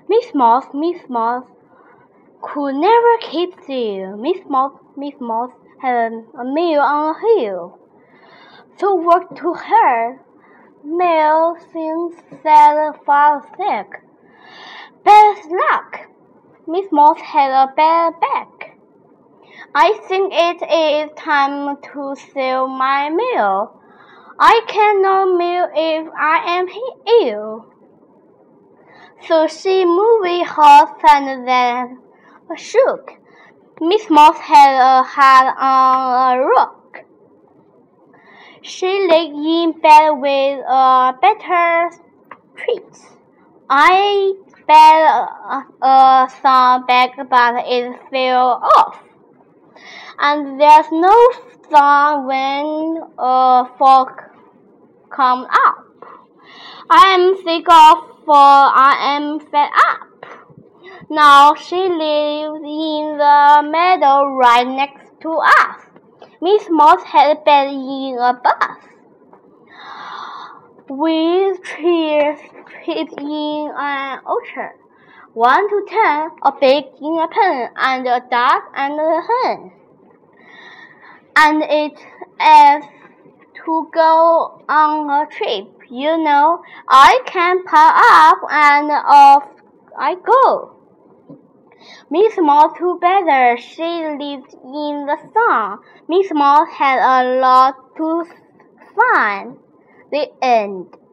Miss Mouse could never keep still. Miss Mouse had a mill on a hill. So worked to her. Mill things said fall sick. Bad luck. Miss Mouse had a bad back. I think it is time to sell my mill. I cannot mill if I am ill. So she moved her and then shook. Miss Mouse had a head on a rock. She lay in bed with a better treat. I bet some back, but it fell off. And there's no song when a fork comes up. I am sick of, for I am fed up. Now she lives in the meadow right next to us. Miss Mouse had been in a bus with trees in an orchard. 1 to 10, a pig in a pen, and a duck and a hen. And it is to go on a trip, you know. I can pack up and off I go. Miss Mouse too better, she lived in the sun. Miss Mouse had a lot to find. The end.